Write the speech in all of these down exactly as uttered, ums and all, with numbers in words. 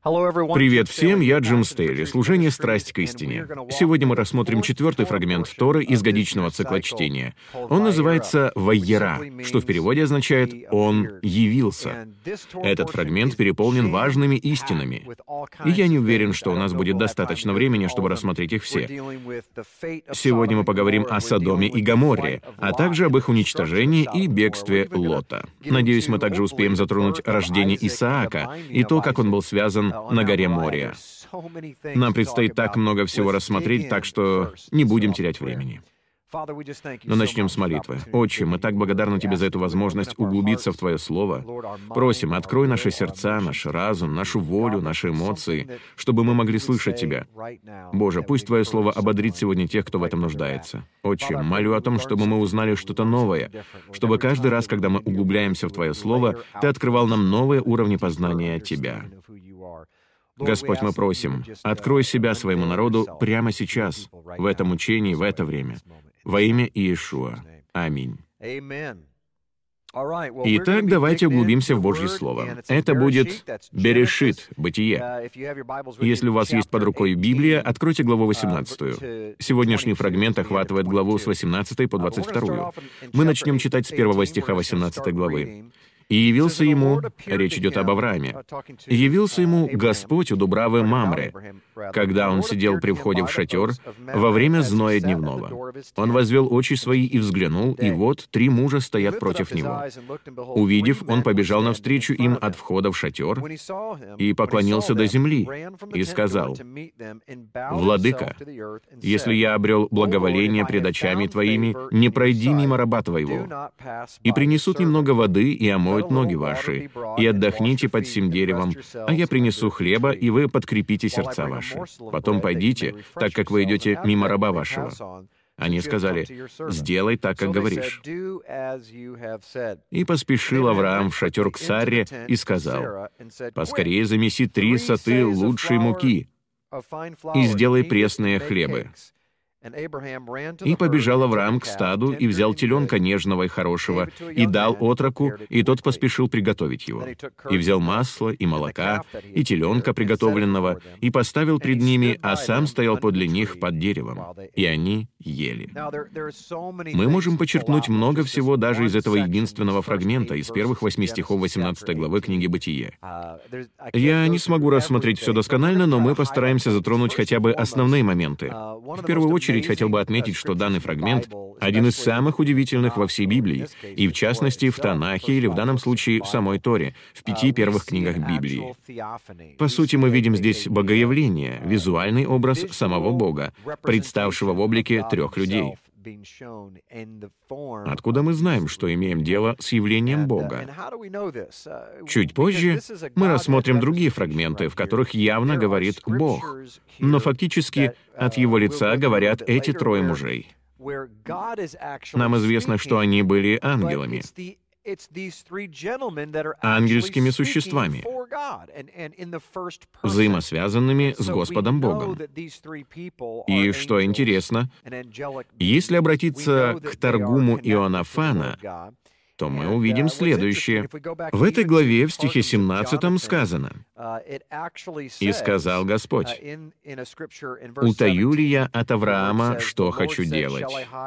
Привет всем, я Джим Стейли, служение «Страсть к истине». Сегодня мы рассмотрим четвертый фрагмент Торы из годичного цикла чтения. Он называется «Вайера», что в переводе означает «Он явился». Этот фрагмент переполнен важными истинами, и я не уверен, что у нас будет достаточно времени, чтобы рассмотреть их все. Сегодня мы поговорим о Содоме и Гоморре, а также об их уничтожении и бегстве Лота. Надеюсь, мы также успеем затронуть рождение Исаака и то, как он был связан на горе Мория. Нам предстоит так много всего рассмотреть, так что не будем терять времени. Но начнем с молитвы. Отче, мы так благодарны Тебе за эту возможность углубиться в Твое Слово. Просим, открой наши сердца, наш разум, нашу волю, наши эмоции, чтобы мы могли слышать Тебя. Боже, пусть Твое Слово ободрит сегодня тех, кто в этом нуждается. Отче, молю о том, чтобы мы узнали что-то новое, чтобы каждый раз, когда мы углубляемся в Твое Слово, Ты открывал нам новые уровни познания Тебя. Господь, мы просим, открой себя своему народу прямо сейчас, в этом учении, в это время. Во имя Иешуа. Аминь. Итак, давайте углубимся в Божье Слово. Это будет Берешит, Бытие. Если у вас есть под рукой Библия, откройте главу восемнадцатую. Сегодняшний фрагмент охватывает главу с восемнадцатой по двадцать вторую. Мы начнем читать с первого стиха восемнадцатой главы. «И явился ему», речь идет об Аврааме, «и явился ему Господь у Дубравы Мамре, когда он сидел при входе в шатер во время зноя дневного. Он возвел очи свои и взглянул, и вот три мужа стоят против него. Увидев, он побежал навстречу им от входа в шатер и поклонился до земли, и сказал: «Владыка, если я обрел благоволение пред очами твоими, не пройди мимо раба твоего. И принесут немного воды, и омоют ноги ваши, и отдохните под сим деревом, а я принесу хлеба, и вы подкрепите сердца ваши. Потом пойдите, так как вы идете мимо раба вашего». Они сказали: «Сделай так, как говоришь». И поспешил Авраам в шатер к Сарре и сказал: «Поскорее замеси три соты лучшей муки и сделай пресные хлебы». И побежал Авраам к стаду, и взял теленка нежного и хорошего, и дал отроку, и тот поспешил приготовить его. И взял масло, и молока, и теленка приготовленного, и поставил пред ними, а сам стоял подле них под деревом. И они ели. Мы можем почерпнуть много всего даже из этого единственного фрагмента, из первых восьми стихов восемнадцатой главы книги «Бытие». Я не смогу рассмотреть все досконально, но мы постараемся затронуть хотя бы основные моменты. В первую очередь, хотел бы отметить, что данный фрагмент — один из самых удивительных во всей Библии, и в частности в Танахе, или в данном случае в самой Торе, в пяти первых книгах Библии. По сути, мы видим здесь богоявление, визуальный образ самого Бога, представшего в облике трех людей. Откуда мы знаем, что имеем дело с явлением Бога? Чуть позже мы рассмотрим другие фрагменты, в которых явно говорит Бог, но фактически от Его лица говорят эти трое мужей. Нам известно, что они были ангелами, ангельскими существами, взаимосвязанными с Господом Богом. И что интересно, если обратиться к Таргуму Иоаннафана, то мы увидим следующее. В этой главе, в стихе семнадцатом, сказано: «И сказал Господь: утаю ли я от Авраама, что хочу делать?»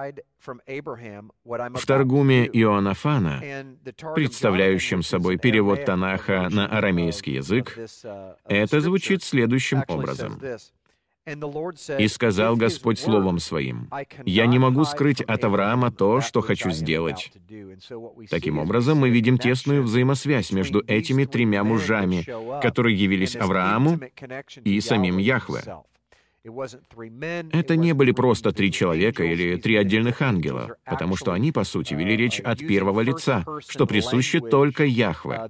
В Таргуме Иоаннафана, представляющем собой перевод Танаха на арамейский язык, это звучит следующим образом. «И сказал Господь словом Своим: я не могу скрыть от Авраама то, что хочу сделать». Таким образом, мы видим тесную взаимосвязь между этими тремя мужами, которые явились Аврааму и самим Яхве. Это не были просто три человека или три отдельных ангела, потому что они, по сути, вели речь от первого лица, что присуще только Яхве.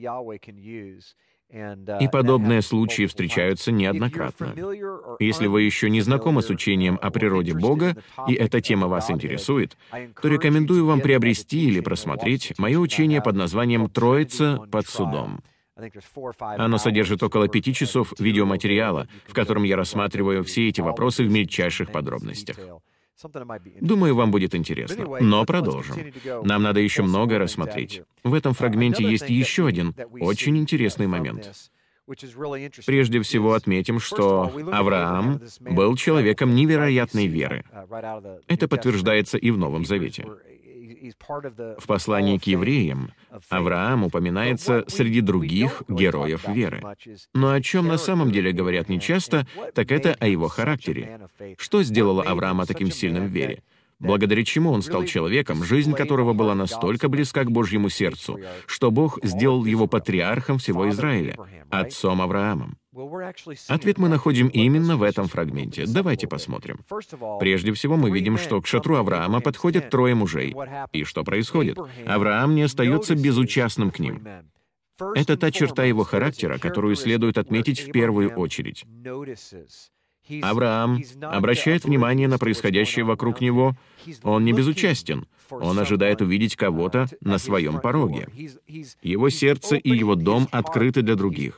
И подобные случаи встречаются неоднократно. Если вы еще не знакомы с учением о природе Бога, и эта тема вас интересует, то рекомендую вам приобрести или просмотреть мое учение под названием «Троица под судом». Оно содержит около пяти часов видеоматериала, в котором я рассматриваю все эти вопросы в мельчайших подробностях. Думаю, вам будет интересно. Но продолжим. Нам надо еще многое рассмотреть. В этом фрагменте есть еще один очень интересный момент. Прежде всего отметим, что Авраам был человеком невероятной веры. Это подтверждается и в Новом Завете. В послании к евреям Авраам упоминается среди других героев веры. Но о чем на самом деле говорят нечасто, так это о его характере. Что сделало Авраама таким сильным в вере? Благодаря чему он стал человеком, жизнь которого была настолько близка к Божьему сердцу, что Бог сделал его патриархом всего Израиля, отцом Авраамом? Ответ мы находим именно в этом фрагменте. Давайте посмотрим. Прежде всего, мы видим, что к шатру Авраама подходят трое мужей. И что происходит? Авраам не остается безучастным к ним. Это та черта его характера, которую следует отметить в первую очередь. Авраам обращает внимание на происходящее вокруг него. Он не безучастен. Он ожидает увидеть кого-то на своем пороге. Его сердце и его дом открыты для других.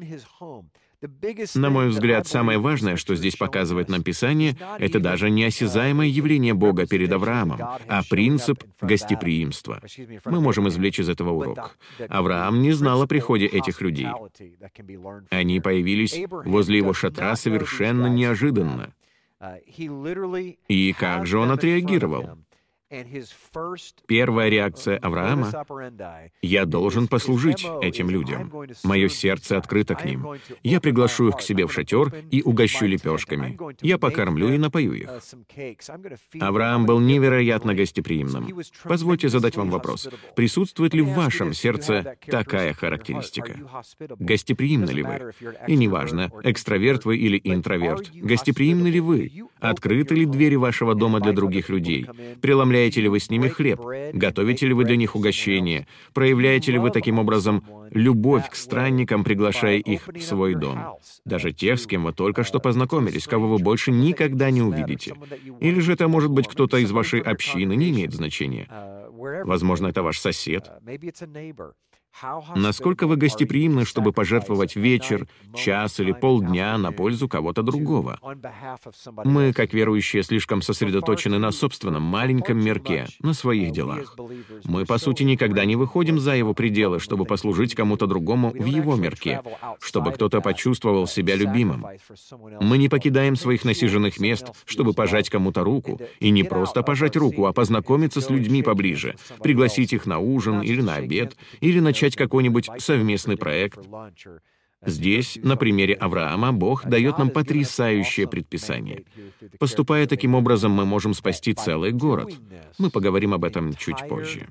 На мой взгляд, самое важное, что здесь показывает нам Писание, это даже не осязаемое явление Бога перед Авраамом, а принцип гостеприимства. Мы можем извлечь из этого урок. Авраам не знал о приходе этих людей. Они появились возле его шатра совершенно неожиданно. И как же он отреагировал? Первая реакция Авраама — «Я должен послужить этим людям. Мое сердце открыто к ним. Я приглашу их к себе в шатер и угощу лепешками. Я покормлю и напою их». Авраам был невероятно гостеприимным. Позвольте задать вам вопрос. Присутствует ли в вашем сердце такая характеристика? Гостеприимны ли вы? И неважно, экстраверт вы или интроверт, гостеприимны ли вы? Открыты ли двери вашего дома для других людей? Преломляете ли вы с ними хлеб? Готовите ли вы для них угощение? Проявляете ли вы таким образом любовь к странникам, приглашая их в свой дом? Даже тех, с кем вы только что познакомились, кого вы больше никогда не увидите. Или же это может быть кто-то из вашей общины, не имеет значения. Возможно, это ваш сосед. Насколько вы гостеприимны, чтобы пожертвовать вечер, час или полдня на пользу кого-то другого? Мы, как верующие, слишком сосредоточены на собственном маленьком мирке, на своих делах. Мы, по сути, никогда не выходим за его пределы, чтобы послужить кому-то другому в его мирке, чтобы кто-то почувствовал себя любимым. Мы не покидаем своих насиженных мест, чтобы пожать кому-то руку, и не просто пожать руку, а познакомиться с людьми поближе, пригласить их на ужин или на обед, или начать какой-нибудь совместный проект. Здесь, на примере Авраама, Бог дает нам потрясающее предписание. Поступая таким образом, мы можем спасти целый город. Мы поговорим об этом чуть позже.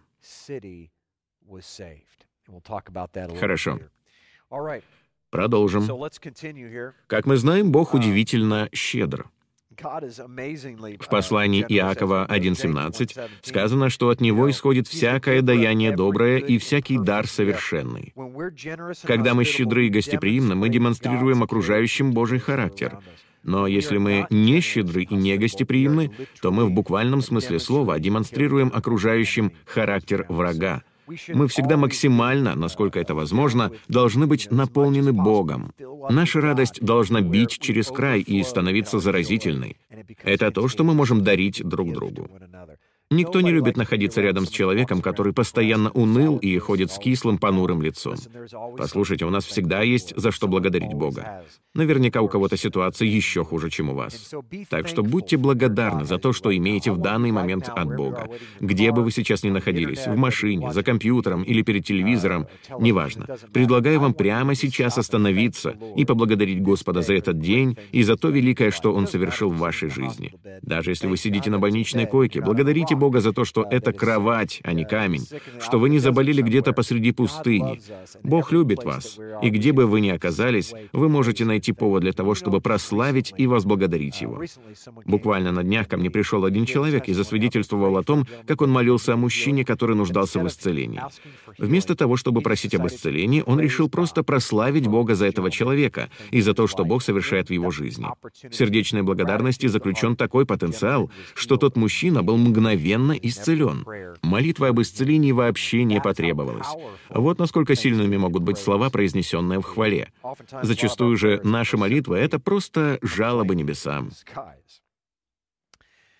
Хорошо. Продолжим. Как мы знаем, Бог удивительно щедр. В послании Иакова один семнадцать сказано, что от Него исходит всякое даяние доброе и всякий дар совершенный. Когда мы щедры и гостеприимны, мы демонстрируем окружающим Божий характер. Но если мы не щедры и не гостеприимны, то мы в буквальном смысле слова демонстрируем окружающим характер врага. Мы всегда максимально, насколько это возможно, должны быть наполнены Богом. Наша радость должна бить через край и становиться заразительной. Это то, что мы можем дарить друг другу. Никто не любит находиться рядом с человеком, который постоянно уныл и ходит с кислым, понурым лицом. Послушайте, у нас всегда есть за что благодарить Бога. Наверняка у кого-то ситуация еще хуже, чем у вас. Так что будьте благодарны за то, что имеете в данный момент от Бога. Где бы вы сейчас ни находились, в машине, за компьютером или перед телевизором, неважно. Предлагаю вам прямо сейчас остановиться и поблагодарить Господа за этот день и за то великое, что Он совершил в вашей жизни. Даже если вы сидите на больничной койке, благодарите Бога за то, что это кровать, а не камень, что вы не заболели где-то посреди пустыни. Бог любит вас, и где бы вы ни оказались, вы можете найти повод для того, чтобы прославить и возблагодарить Его. Буквально на днях ко мне пришел один человек и засвидетельствовал о том, как он молился о мужчине, который нуждался в исцелении. Вместо того, чтобы просить об исцелении, он решил просто прославить Бога за этого человека и за то, что Бог совершает в его жизни. В сердечной благодарности заключен такой потенциал, что тот мужчина был мгновенно исцелен. Молитва об исцелении вообще не потребовалась. Вот насколько сильными могут быть слова, произнесенные в хвале. Зачастую же наши молитвы — это просто жалобы небесам.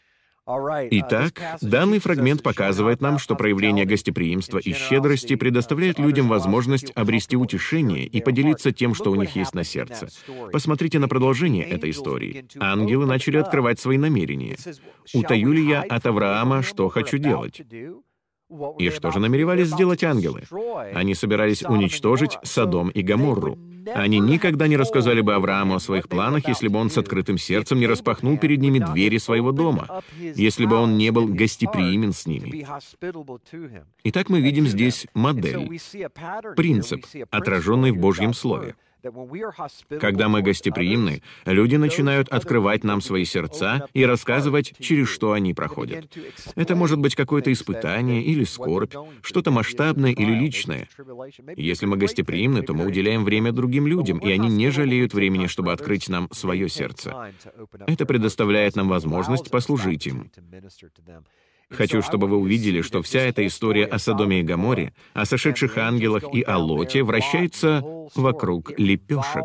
Итак, данный фрагмент показывает нам, что проявление гостеприимства и щедрости предоставляет людям возможность обрести утешение и поделиться тем, что у них есть на сердце. Посмотрите на продолжение этой истории. Ангелы начали открывать свои намерения. «Утаю ли я от Авраама, что хочу делать?» И что же намеревались сделать ангелы? Они собирались уничтожить Содом и Гоморру. Они никогда не рассказали бы Аврааму о своих планах, если бы он с открытым сердцем не распахнул перед ними двери своего дома, если бы он не был гостеприимен с ними. Итак, мы видим здесь модель, принцип, отраженный в Божьем Слове. Когда мы гостеприимны, люди начинают открывать нам свои сердца и рассказывать, через что они проходят. Это может быть какое-то испытание или скорбь, что-то масштабное или личное. Если мы гостеприимны, то мы уделяем время другим людям, и они не жалеют времени, чтобы открыть нам свое сердце. Это предоставляет нам возможность послужить им. Хочу, чтобы вы увидели, что вся эта история о Содоме и Гоморре, о сошедших ангелах и о Лоте вращается вокруг лепешек.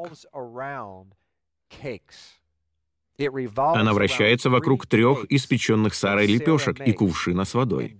Она вращается вокруг трех испеченных Сарой лепешек и кувшина с водой.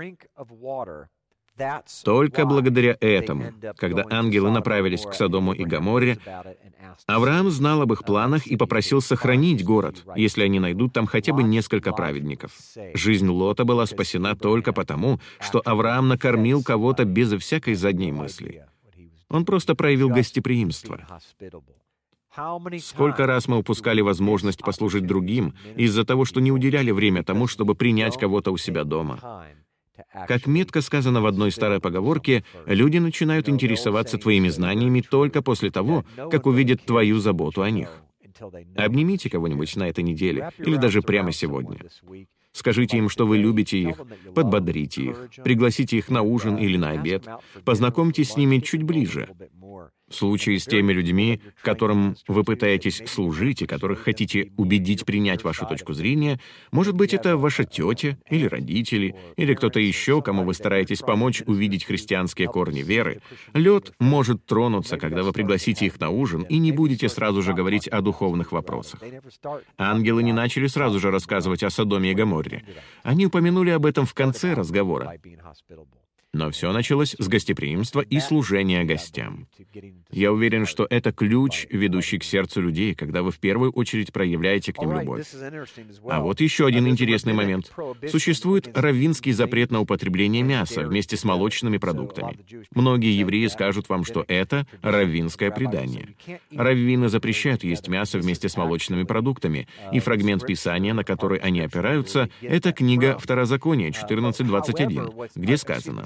Только благодаря этому, когда ангелы направились к Содому и Гоморре, Авраам знал об их планах и попросил сохранить город, если они найдут там хотя бы несколько праведников. Жизнь Лота была спасена только потому, что Авраам накормил кого-то безо всякой задней мысли. Он просто проявил гостеприимство. Сколько раз мы упускали возможность послужить другим из-за того, что не уделяли время тому, чтобы принять кого-то у себя дома. Как метко сказано в одной старой поговорке, люди начинают интересоваться твоими знаниями только после того, как увидят твою заботу о них. Обнимите кого-нибудь на этой неделе или даже прямо сегодня. Скажите им, что вы любите их, подбодрите их, пригласите их на ужин или на обед, познакомьтесь с ними чуть ближе. В случае с теми людьми, которым вы пытаетесь служить и которых хотите убедить принять вашу точку зрения, может быть, это ваша тетя или родители, или кто-то еще, кому вы стараетесь помочь увидеть христианские корни веры, лед может тронуться, когда вы пригласите их на ужин и не будете сразу же говорить о духовных вопросах. Ангелы не начали сразу же рассказывать о Содоме и Гоморре. Они упомянули об этом в конце разговора. Но все началось с гостеприимства и служения гостям. Я уверен, что это ключ, ведущий к сердцу людей, когда вы в первую очередь проявляете к ним любовь. А вот еще один интересный момент. Существует раввинский запрет на употребление мяса вместе с молочными продуктами. Многие евреи скажут вам, что это раввинское предание. Раввины запрещают есть мясо вместе с молочными продуктами, и фрагмент Писания, на который они опираются, это книга Второзакония четырнадцать двадцать один, где сказано: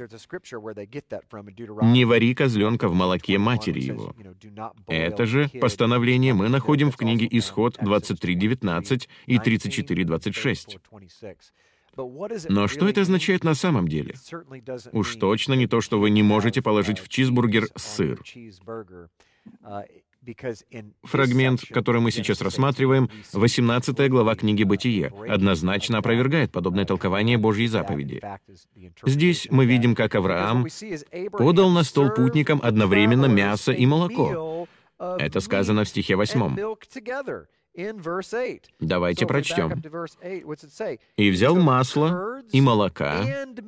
«Не вари козленка в молоке матери его». Это же постановление мы находим в книге Исход двадцать три девятнадцать и тридцать четыре двадцать шесть. Но что это означает на самом деле? Уж точно не то, что вы не можете положить в чизбургер сыр. Фрагмент, который мы сейчас рассматриваем, восемнадцатая глава книги «Бытие», однозначно опровергает подобное толкование Божьей заповеди. Здесь мы видим, как Авраам подал на стол путникам одновременно мясо и молоко. Это сказано в стихе восьмом. Давайте прочтем. «И взял масло и молока,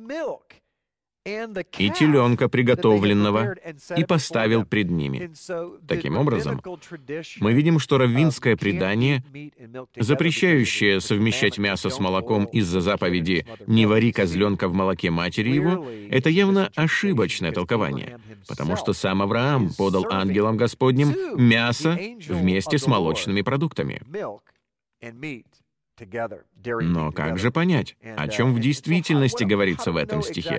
и теленка приготовленного, и поставил пред ними». Таким образом, мы видим, что раввинское предание, запрещающее совмещать мясо с молоком из-за заповеди «не вари козленка в молоке матери его», это явно ошибочное толкование, потому что сам Авраам подал ангелам Господним мясо вместе с молочными продуктами. Но как же понять, о чем в действительности говорится в этом стихе?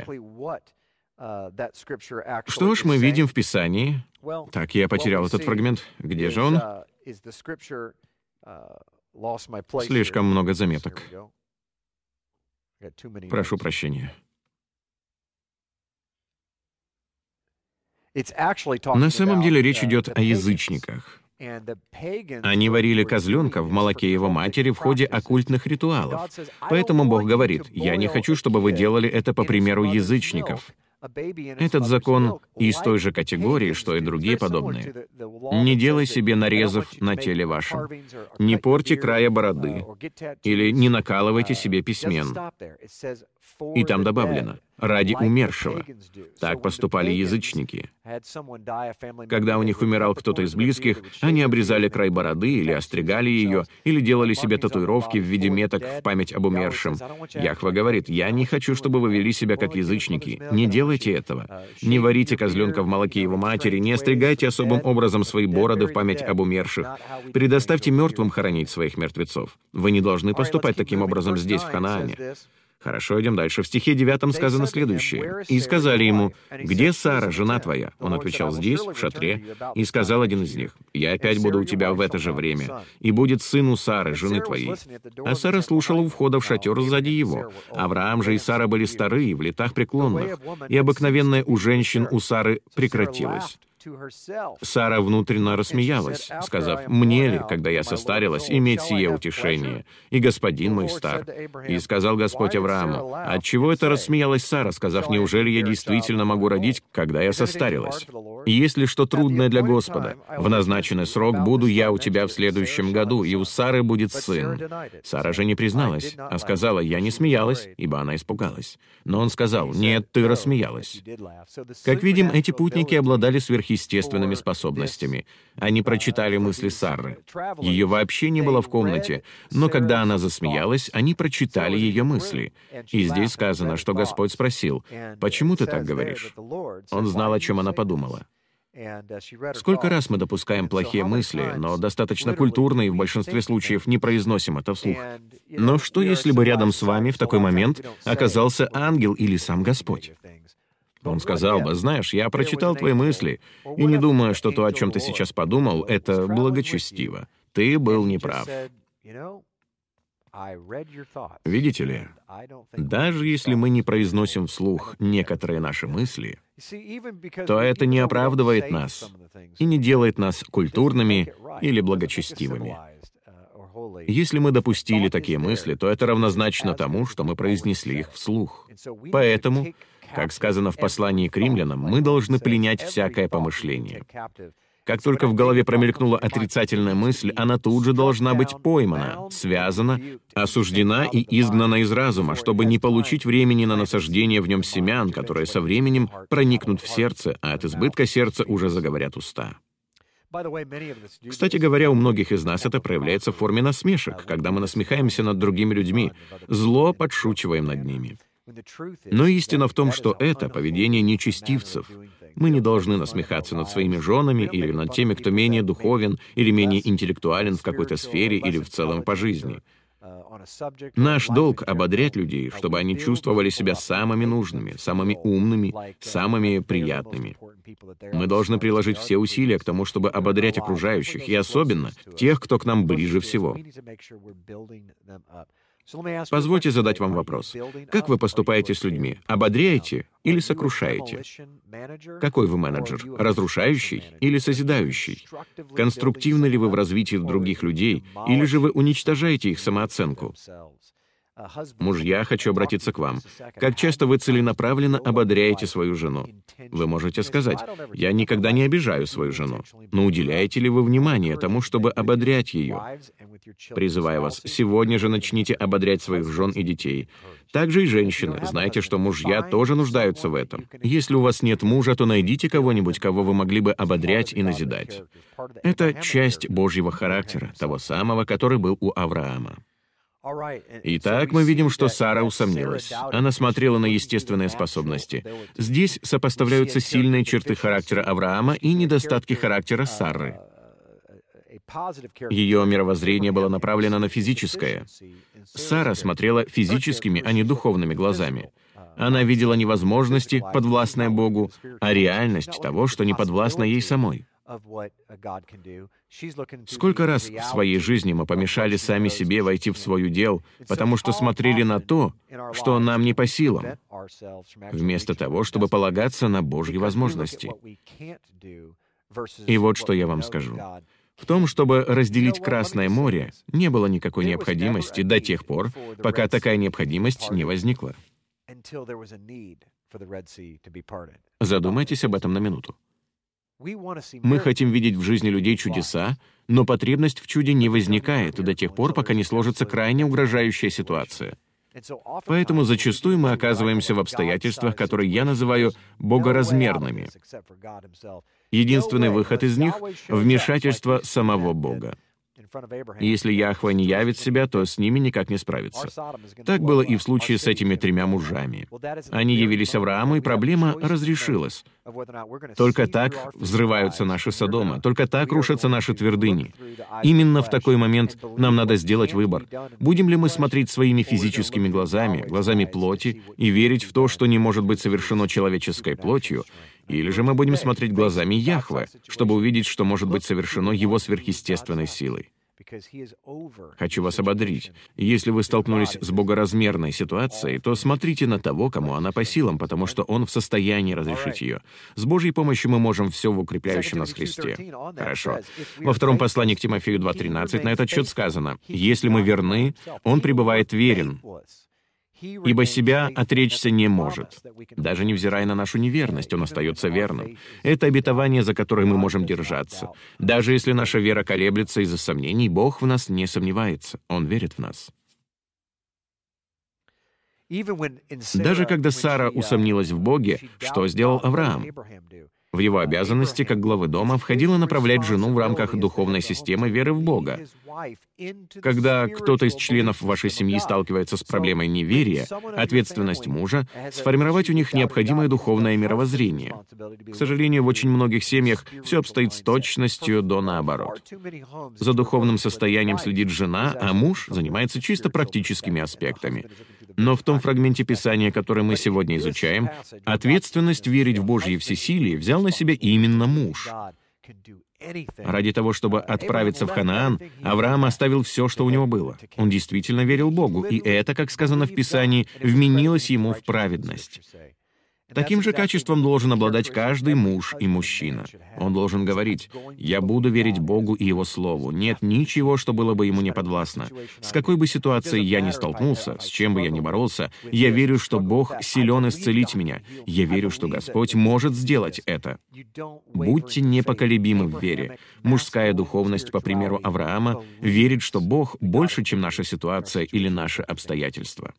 Что ж, мы видим в Писании. Так, я потерял этот фрагмент. Где же он? Слишком много заметок. Прошу прощения. На самом деле речь идет о язычниках. Они варили козленка в молоке его матери в ходе оккультных ритуалов. Поэтому Бог говорит: «Я не хочу, чтобы вы делали это по примеру язычников». Этот закон из той же категории, что и другие подобные. Не делай себе нарезов на теле вашем, не порти края бороды, или не накалывайте себе письмен. И там добавлено: ради умершего. Так поступали язычники. Когда у них умирал кто-то из близких, они обрезали край бороды или остригали ее, или делали себе татуировки в виде меток в память об умершем. Яхве говорит: «Я не хочу, чтобы вы вели себя как язычники. Не делайте этого. Не варите козленка в молоке его матери, не остригайте особым образом свои бороды в память об умерших. Предоставьте мертвым хоронить своих мертвецов. Вы не должны поступать таким образом здесь, в Ханаане». Хорошо, идем дальше. В стихе девятом сказано следующее. «И сказали ему: где Сара, жена твоя?» Он отвечал: «Здесь, в шатре». И сказал один из них: «Я опять буду у тебя в это же время, и будет сын у Сары, жены твоей». А Сара слушала у входа в шатер сзади его. Авраам же и Сара были стары и в летах преклонных, и обыкновенное у женщин у Сары прекратилось. Сара внутренно рассмеялась, сказав: «Мне ли, когда я состарилась, иметь сие утешение? И господин мой стар». И сказал Господь Аврааму: «Отчего это рассмеялась Сара, сказав: неужели я действительно могу родить, когда я состарилась? И если что трудное для Господа, в назначенный срок буду я у тебя в следующем году, и у Сары будет сын». Сара же не призналась, а сказала: «Я не смеялась», ибо она испугалась. Но он сказал: «Нет, ты рассмеялась». Как видим, эти путники обладали сверхъестественными естественными способностями. Они прочитали мысли Сары. Ее вообще не было в комнате, но когда она засмеялась, они прочитали ее мысли. И здесь сказано, что Господь спросил: «Почему ты так говоришь?» Он знал, о чем она подумала. Сколько раз мы допускаем плохие мысли, но достаточно культурно и в большинстве случаев не произносим это вслух. Но что, если бы рядом с вами в такой момент оказался ангел или сам Господь? Он сказал бы: «Знаешь, я прочитал твои мысли, и не думаю, что то, о чем ты сейчас подумал, это благочестиво. Ты был неправ». Видите ли, даже если мы не произносим вслух некоторые наши мысли, то это не оправдывает нас и не делает нас культурными или благочестивыми. Если мы допустили такие мысли, то это равнозначно тому, что мы произнесли их вслух. Поэтому, как сказано в послании к римлянам, мы должны пленять всякое помышление. Как только в голове промелькнула отрицательная мысль, она тут же должна быть поймана, связана, осуждена и изгнана из разума, чтобы не получить времени на насаждение в нем семян, которые со временем проникнут в сердце, а от избытка сердца уже заговорят уста. Кстати говоря, у многих из нас это проявляется в форме насмешек, когда мы насмехаемся над другими людьми, зло подшучиваем над ними. Но истина в том, что это поведение нечестивцев. Мы не должны насмехаться над своими женами или над теми, кто менее духовен или менее интеллектуален в какой-то сфере или в целом по жизни. Наш долг — ободрять людей, чтобы они чувствовали себя самыми нужными, самыми умными, самыми приятными. Мы должны приложить все усилия к тому, чтобы ободрять окружающих, и особенно тех, кто к нам ближе всего. Позвольте задать вам вопрос. Как вы поступаете с людьми? Ободряете или сокрушаете? Какой вы менеджер? Разрушающий или созидающий? Конструктивны ли вы в развитии других людей, или же вы уничтожаете их самооценку? Мужья, хочу обратиться к вам. Как часто вы целенаправленно ободряете свою жену? Вы можете сказать: «Я никогда не обижаю свою жену». Но уделяете ли вы внимание тому, чтобы ободрять ее? Призываю вас, сегодня же начните ободрять своих жен и детей. Также и женщины. Знайте, что мужья тоже нуждаются в этом. Если у вас нет мужа, то найдите кого-нибудь, кого вы могли бы ободрять и назидать. Это часть Божьего характера, того самого, который был у Авраама. Итак, мы видим, что Сара усомнилась. Она смотрела на естественные способности. Здесь сопоставляются сильные черты характера Авраама и недостатки характера Сары. Ее мировоззрение было направлено на физическое. Сара смотрела физическими, а не духовными глазами. Она видела не возможности, подвластные Богу, а реальность того, что не подвластно ей самой. Сколько раз в своей жизни мы помешали сами себе войти в свой удел, потому что смотрели на то, что нам не по силам, вместо того, чтобы полагаться на Божьи возможности. И вот что я вам скажу. В том, чтобы разделить Красное море, не было никакой необходимости до тех пор, пока такая необходимость не возникла. Задумайтесь об этом на минуту. Мы хотим видеть в жизни людей чудеса, но потребность в чуде не возникает до тех пор, пока не сложится крайне угрожающая ситуация. Поэтому зачастую мы оказываемся в обстоятельствах, которые я называю богоразмерными. Единственный выход из них — вмешательство самого Бога. Если Яхве не явит себя, то с ними никак не справиться. Так было и в случае с этими тремя мужами. Они явились Аврааму, и проблема разрешилась. Только так взрываются наши Содомы, только так рушатся наши твердыни. Именно в такой момент нам надо сделать выбор. Будем ли мы смотреть своими физическими глазами, глазами плоти, и верить в то, что не может быть совершено человеческой плотью, или же мы будем смотреть глазами Яхве, чтобы увидеть, что может быть совершено Его сверхъестественной силой. Хочу вас ободрить. Если вы столкнулись с богоразмерной ситуацией, то смотрите на того, кому она по силам, потому что Он в состоянии разрешить ее. С Божьей помощью мы можем все в укрепляющем нас Христе. Хорошо. Во втором послании к Тимофею два тринадцать на этот счет сказано: «Если мы верны, Он пребывает верен, ибо себя отречься не может». Даже невзирая на нашу неверность, Он остается верным. Это обетование, за которое мы можем держаться. Даже если наша вера колеблется из-за сомнений, Бог в нас не сомневается. Он верит в нас. Даже когда Сара усомнилась в Боге, что сделал Авраам? В его обязанности, как главы дома, входило направлять жену в рамках духовной системы веры в Бога. Когда кто-то из членов вашей семьи сталкивается с проблемой неверия, ответственность мужа — сформировать у них необходимое духовное мировоззрение. К сожалению, в очень многих семьях все обстоит с точностью до наоборот. За духовным состоянием следит жена, а муж занимается чисто практическими аспектами. Но в том фрагменте Писания, который мы сегодня изучаем, ответственность верить в Божье всесилие взял на себя именно муж. Ради того, чтобы отправиться в Ханаан, Авраам оставил все, что у него было. Он действительно верил Богу, и это, как сказано в Писании, вменилось ему в праведность. Таким же качеством должен обладать каждый муж и мужчина. Он должен говорить: «Я буду верить Богу и Его Слову. Нет ничего, что было бы Ему не подвластно. С какой бы ситуацией я ни столкнулся, с чем бы я ни боролся, я верю, что Бог силен исцелить меня. Я верю, что Господь может сделать это». Будьте непоколебимы в вере. Мужская духовность, по примеру Авраама, верит, что Бог больше, чем наша ситуация или наши обстоятельства.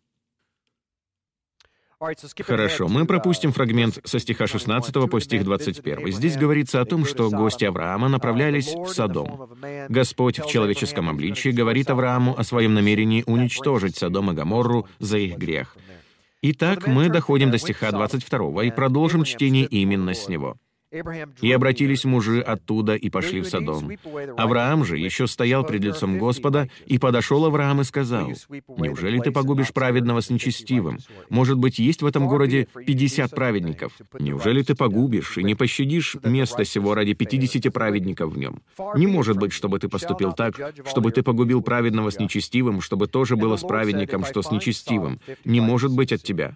Хорошо, мы пропустим фрагмент со стиха шестнадцатого по стих двадцать первый. Здесь говорится о том, что гости Авраама направлялись в Содом. Господь в человеческом обличии говорит Аврааму о своем намерении уничтожить Содом и Гоморру за их грех. Итак, мы доходим до стиха двадцать второго и продолжим чтение именно с него. «И обратились мужи оттуда и пошли в Содом. Авраам же еще стоял пред лицом Господа, и подошел Авраам и сказал: „Неужели ты погубишь праведного с нечестивым? Может быть, есть в этом городе пятьдесят праведников? Неужели ты погубишь и не пощадишь место сего ради пятидесяти праведников в нем? Не может быть, чтобы ты поступил так, чтобы ты погубил праведного с нечестивым, чтобы тоже было с праведником, что с нечестивым. Не может быть от тебя.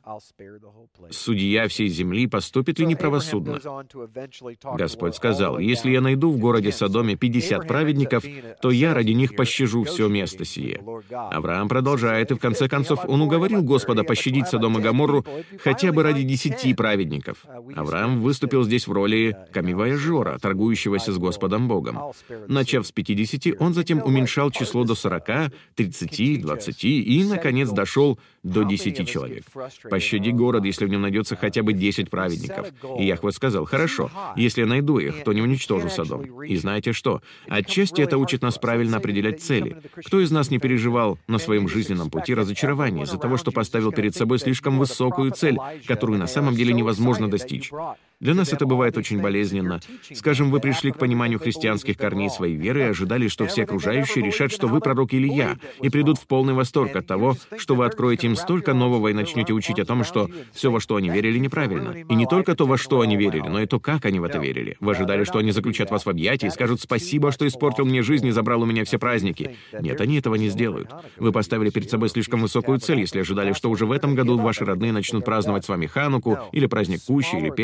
Судья всей земли поступит ли неправосудно?“ Господь сказал: «Если я найду в городе Содоме пятьдесят праведников, то я ради них пощажу все место сие». Авраам продолжает, и в конце концов он уговорил Господа пощадить Содом и Гоморру хотя бы ради десяти праведников. Авраам выступил здесь в роли камевояжера, торгующегося с Господом Богом. Начав с пятидесяти, он затем уменьшал число до сорока, тридцати, двадцати и, наконец, дошел до десяти человек. «Пощади город, если в нем найдется хотя бы десять праведников». И Яхве сказал: «Хорошо, если я найду их, то не уничтожу Содом». И знаете что? Отчасти это учит нас правильно определять цели. Кто из нас не переживал на своем жизненном пути разочарование из-за того, что поставил перед собой слишком высокую цель, которую на самом деле невозможно достичь? Для нас это бывает очень болезненно. Скажем, вы пришли к пониманию христианских корней своей веры и ожидали, что все окружающие решат, что вы пророк Илия, и придут в полный восторг от того, что вы откроете им столько нового и начнете учить о том, что все, во что они верили, неправильно. И не только то, во что они верили, но и то, как они в это верили. Вы ожидали, что они заключат вас в объятия и скажут: «Спасибо, что испортил мне жизнь и забрал у меня все праздники». Нет, они этого не сделают. Вы поставили перед собой слишком высокую цель, если ожидали, что уже в этом году ваши родные начнут праздновать с вами Хануку, или праздник Кущи, или Песах.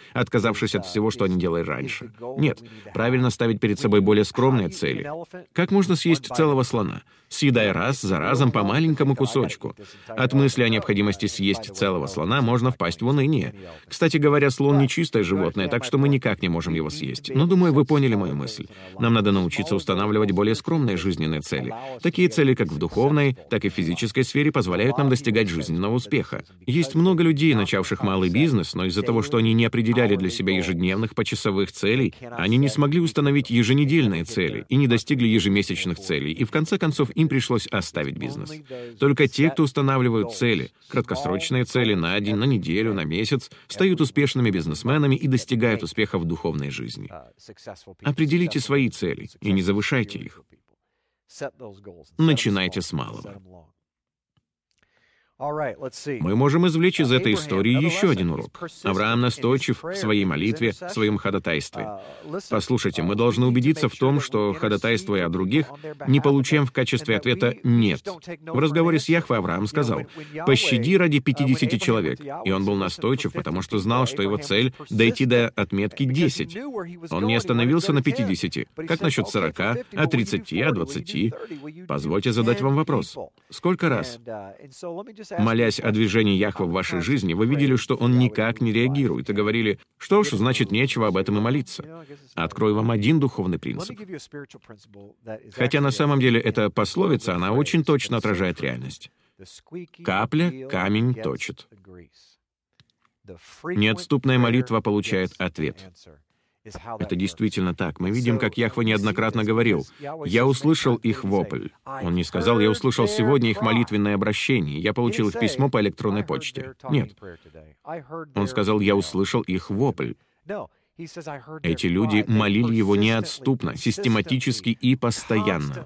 отказавшись от всего, что они делали раньше. Нет, правильно ставить перед собой более скромные цели. Как можно съесть целого слона? Съедая раз за разом по маленькому кусочку. От мысли о необходимости съесть целого слона можно впасть в уныние. Кстати говоря, слон не чистое животное, так что мы никак не можем его съесть. Но, думаю, вы поняли мою мысль. Нам надо научиться устанавливать более скромные жизненные цели. Такие цели, как в духовной, так и в физической сфере, позволяют нам достигать жизненного успеха. Есть много людей, начавших малый бизнес, но из-за того, что они не определяли для себя ежедневных почасовых целей, они не смогли установить еженедельные цели и не достигли ежемесячных целей, и в конце концов им пришлось оставить бизнес. Только те, кто устанавливают цели, краткосрочные цели на день, на неделю, на месяц, стают успешными бизнесменами и достигают успеха в духовной жизни. Определите свои цели и не завышайте их. Начинайте с малого. Мы можем извлечь из этой истории еще один урок. Авраам настойчив в своей молитве, в своем ходатайстве. Послушайте, мы должны убедиться в том, что, ходатайствуя о других, не получаем в качестве ответа «нет». В разговоре с Яхве Авраам сказал: «Пощади ради пятидесяти человек». И он был настойчив, потому что знал, что его цель — дойти до отметки десять. Он не остановился на пятидесяти. Как насчет сорока, а тридцати, а двадцати? Позвольте задать вам вопрос. Сколько раз, молясь о движении Яхве в вашей жизни, вы видели, что он никак не реагирует, и говорили: «Что ж, значит, нечего об этом и молиться». Открою вам один духовный принцип. Хотя на самом деле эта пословица, она очень точно отражает реальность. Капля камень точит. Неотступная молитва получает ответ. Это действительно так. Мы видим, как Яхве неоднократно говорил: «Я услышал их вопль». Он не сказал: «Я услышал сегодня их молитвенное обращение, я получил их письмо по электронной почте». Нет. Он сказал: «Я услышал их вопль». Эти люди молили его неотступно, систематически и постоянно.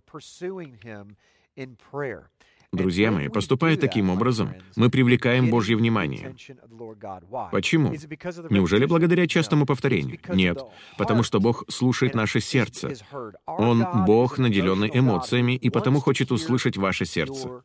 Друзья мои, поступая таким образом, мы привлекаем Божье внимание. Почему? Неужели благодаря частому повторению? Нет, потому что Бог слушает наше сердце. Он — Бог, наделенный эмоциями, и потому хочет услышать ваше сердце.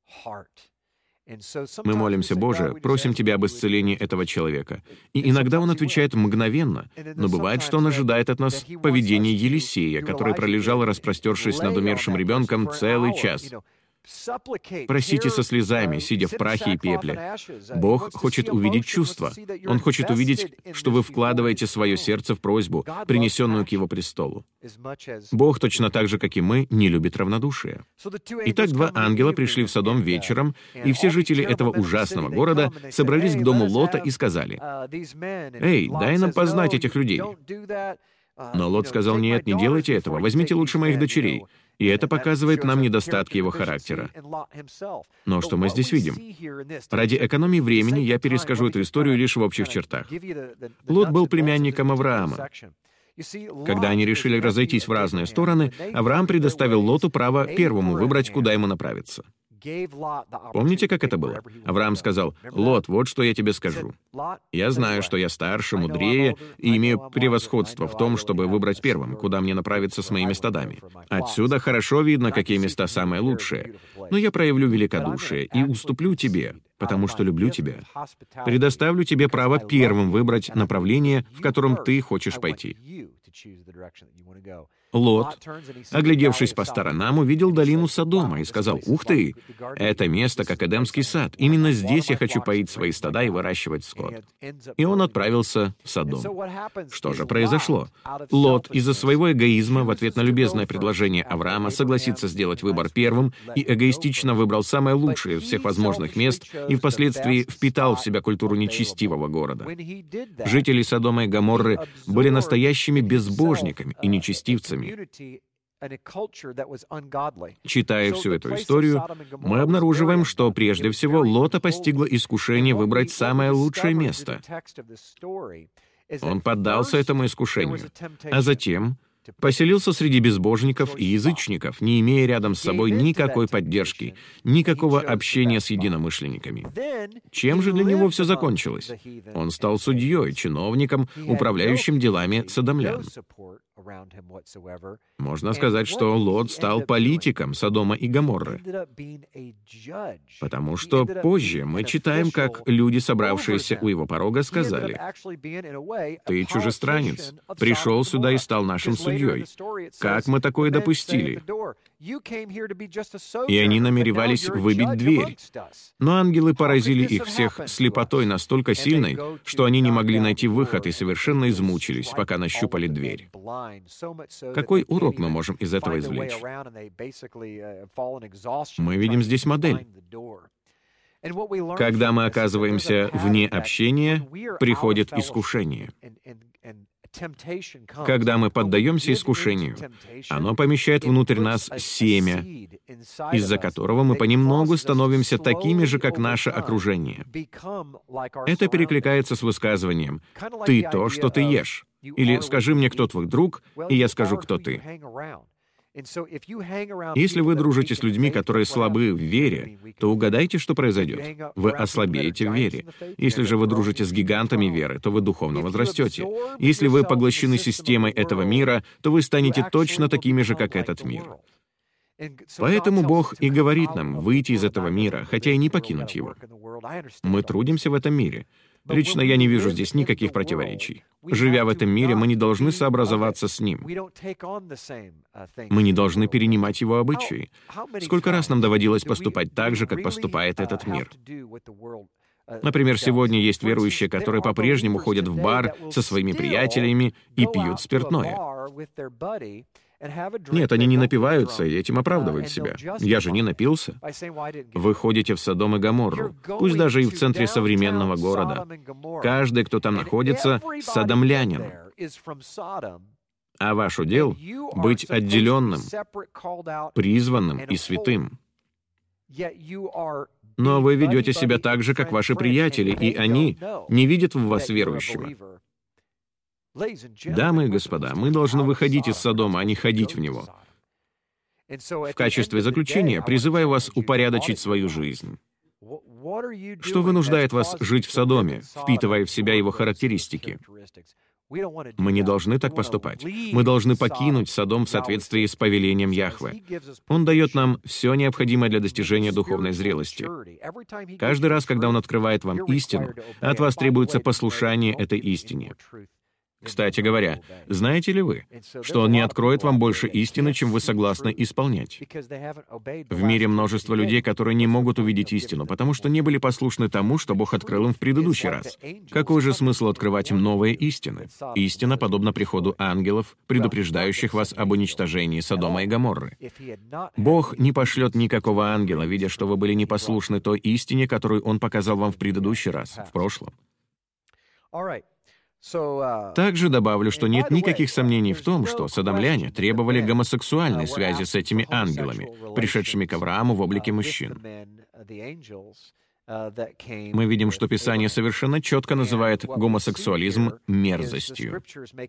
Мы молимся: «Боже, просим Тебя об исцелении этого человека». И иногда Он отвечает мгновенно, но бывает, что Он ожидает от нас поведения Елисея, который пролежал, распростершись над умершим ребенком, целый час. Просите со слезами, сидя в прахе и пепле. Бог хочет увидеть чувства. Он хочет увидеть, что вы вкладываете свое сердце в просьбу, принесенную к Его престолу. Бог, точно так же, как и мы, не любит равнодушие. Итак, два ангела пришли в Содом вечером, и все жители этого ужасного города собрались к дому Лота и сказали: «Эй, дай нам познать этих людей». Но Лот сказал: «Нет, не делайте этого, возьмите лучше моих дочерей». И это показывает нам недостатки его характера. Но что мы здесь видим? Ради экономии времени я перескажу эту историю лишь в общих чертах. Лот был племянником Авраама. Когда они решили разойтись в разные стороны, Авраам предоставил Лоту право первому выбрать, куда ему направиться. Помните, как это было? Авраам сказал: «Лот, вот что я тебе скажу. Я знаю, что я старше, мудрее и имею превосходство в том, чтобы выбрать первым, куда мне направиться с моими стадами. Отсюда хорошо видно, какие места самые лучшие. Но я проявлю великодушие и уступлю тебе, потому что люблю тебя. Предоставлю тебе право первым выбрать направление, в котором ты хочешь пойти». Лот, оглядевшись по сторонам, увидел долину Содома и сказал: «Ух ты! Это место, как Эдемский сад. Именно здесь я хочу поить свои стада и выращивать скот». И он отправился в Содом. Что же произошло? Лот из-за своего эгоизма в ответ на любезное предложение Авраама согласиться сделать выбор первым и эгоистично выбрал самое лучшее из всех возможных мест и впоследствии впитал в себя культуру нечестивого города. Жители Содома и Гоморры были настоящими безбожниками и нечестивцами. Читая всю эту историю, мы обнаруживаем, что прежде всего Лота постигло искушение выбрать самое лучшее место. Он поддался этому искушению, а затем поселился среди безбожников и язычников, не имея рядом с собой никакой поддержки, никакого общения с единомышленниками. Чем же для него все закончилось? Он стал судьей, чиновником, управляющим делами содомлян. Можно сказать, что Лот стал политиком Содома и Гоморры. Потому что позже мы читаем, как люди, собравшиеся у его порога, сказали: «Ты чужестранец, пришел сюда и стал нашим судьей. Как мы такое допустили?» И они намеревались выбить дверь. Но ангелы поразили их всех слепотой настолько сильной, что они не могли найти выход и совершенно измучились, пока нащупали дверь. Какой урок мы можем из этого извлечь? Мы видим здесь модель. Когда мы оказываемся вне общения, приходит искушение. Когда мы поддаемся искушению, оно помещает внутрь нас семя, из-за которого мы понемногу становимся такими же, как наше окружение. Это перекликается с высказыванием «ты то, что ты ешь», или «скажи мне, кто твой друг, и я скажу, кто ты». Если вы дружите с людьми, которые слабы в вере, то угадайте, что произойдет. Вы ослабеете в вере. Если же вы дружите с гигантами веры, то вы духовно возрастете. Если вы поглощены системой этого мира, то вы станете точно такими же, как этот мир. Поэтому Бог и говорит нам выйти из этого мира, хотя и не покинуть его. Мы трудимся в этом мире. Лично я не вижу здесь никаких противоречий. Живя в этом мире, мы не должны сообразоваться с ним. Мы не должны перенимать его обычаи. Сколько раз нам доводилось поступать так же, как поступает этот мир? Например, сегодня есть верующие, которые по-прежнему ходят в бар со своими приятелями и пьют спиртное. Нет, они не напиваются и этим оправдывают себя. Я же не напился. Вы ходите в Содом и Гоморру, пусть даже и в центре современного города. Каждый, кто там находится, содомлянин. А ваш удел — быть отделенным, призванным и святым. Но вы ведете себя так же, как ваши приятели, и они не видят в вас верующего. Дамы и господа, мы должны выходить из Содома, а не ходить в него. В качестве заключения призываю вас упорядочить свою жизнь. Что вынуждает вас жить в Содоме, впитывая в себя его характеристики? Мы не должны так поступать. Мы должны покинуть Содом в соответствии с повелением Яхве. Он дает нам все необходимое для достижения духовной зрелости. Каждый раз, когда Он открывает вам истину, от вас требуется послушание этой истине. Кстати говоря, знаете ли вы, что Он не откроет вам больше истины, чем вы согласны исполнять? В мире множество людей, которые не могут увидеть истину, потому что не были послушны тому, что Бог открыл им в предыдущий раз. Какой же смысл открывать им новые истины? Истина подобна приходу ангелов, предупреждающих вас об уничтожении Содома и Гоморры. Бог не пошлет никакого ангела, видя, что вы были непослушны той истине, которую Он показал вам в предыдущий раз, в прошлом. Также добавлю, что нет никаких сомнений в том, что содомляне требовали гомосексуальной связи с этими ангелами, пришедшими к Аврааму в облике мужчин. Мы видим, что Писание совершенно четко называет гомосексуализм мерзостью.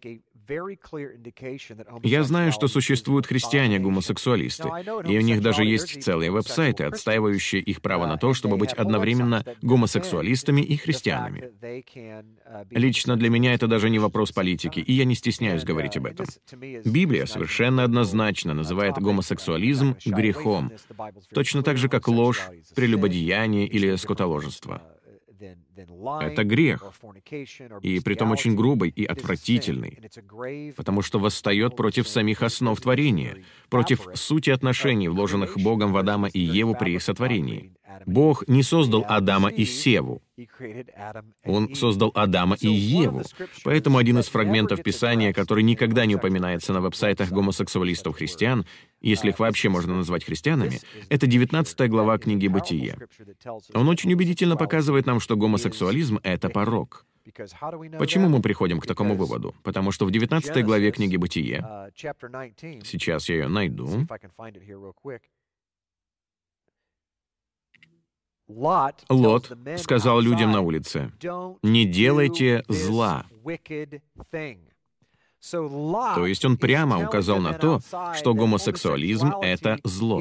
Я знаю, что существуют христиане-гомосексуалисты, и у них даже есть целые веб-сайты, отстаивающие их право на то, чтобы быть одновременно гомосексуалистами и христианами. Лично для меня это даже не вопрос политики, и я не стесняюсь говорить об этом. Библия совершенно однозначно называет гомосексуализм грехом, точно так же, как ложь, прелюбодеяние или скотоложество. Это грех, и притом очень грубый и отвратительный, потому что восстает против самих основ творения, против сути отношений, вложенных Богом в Адама и Еву при их сотворении. Бог не создал Адама и Севу. Он создал Адама и Еву. Поэтому один из фрагментов Писания, который никогда не упоминается на веб-сайтах гомосексуалистов-христиан, если их вообще можно назвать христианами, это девятнадцатая глава книги «Бытие». Он очень убедительно показывает нам, что гомосексуализм — это порок. Почему мы приходим к такому выводу? Потому что в девятнадцатой главе книги «Бытие», сейчас я ее найду, Лот сказал людям на улице: «Не делайте зла». То есть он прямо указал на то, что гомосексуализм — это зло.